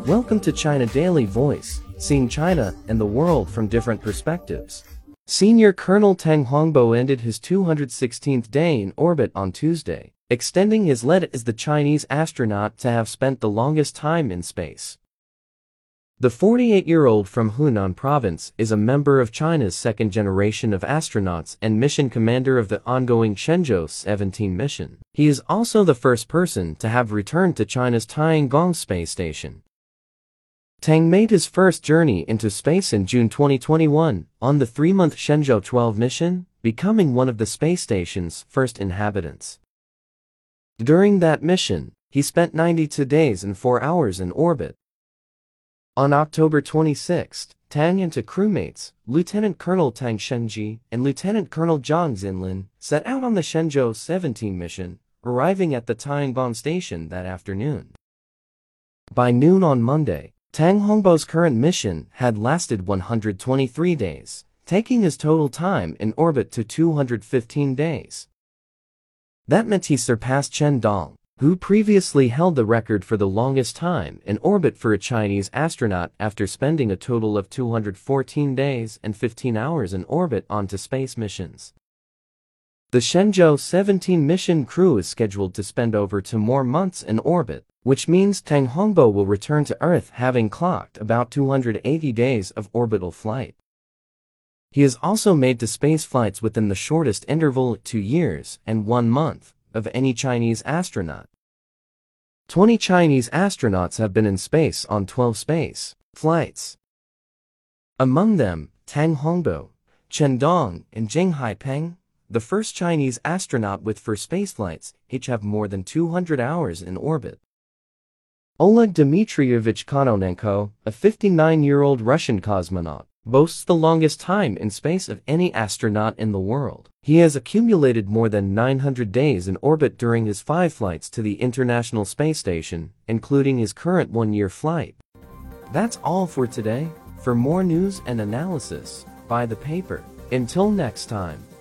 Welcome to China Daily Voice, seeing China and the world from different perspectives. Senior Colonel Tang Hongbo ended his 216th day in orbit on Tuesday, extending his lead as the Chinese astronaut to have spent the longest time in space. The 48-year-old from Hunan province is a member of China's second generation of astronauts and mission commander of the ongoing Shenzhou 17 mission. He is also the first person to have returned to China's Tiangong space station. Tang made his first journey into space in June 2021 on the 3-month Shenzhou 12 mission, becoming one of the space station's first inhabitants. During that mission, he spent 92 days and 4 hours in orbit. On October 26, Tang and two crewmates, Lieutenant Colonel Tang Shengji and Lieutenant Colonel Zhang Xinlin, set out on the Shenzhou 17 mission, arriving at the Tiangong station that afternoon. By noon on Monday, Tang Hongbo's current mission had lasted 123 days, taking his total time in orbit to 215 days. That meant he surpassed Chen Dong, who previously held the record for the longest time in orbit for a Chinese astronaut after spending a total of 214 days and 15 hours in orbit onto space missions. The Shenzhou 17 mission crew is scheduled to spend over 2 more months in orbit, which means Tang Hongbo will return to Earth having clocked about 280 days of orbital flight. He has also made to space flights within the shortest interval at 2 years and 1 month of any Chinese astronaut. 20 Chinese astronauts have been in space on 12 space flights. Among them, Tang Hongbo, Chen Dong, and Zheng Haipeng, the first Chinese astronaut with 4 spaceflights, each have more than 200 hours in orbit. Oleg Dmitrievich Kononenko, a 59-year-old Russian cosmonaut, boasts the longest time in space of any astronaut in the world. He has accumulated more than 900 days in orbit during his 5 flights to the International Space Station, including his current 1-year flight. That's all for today. For more news and analysis, buy the paper. Until next time.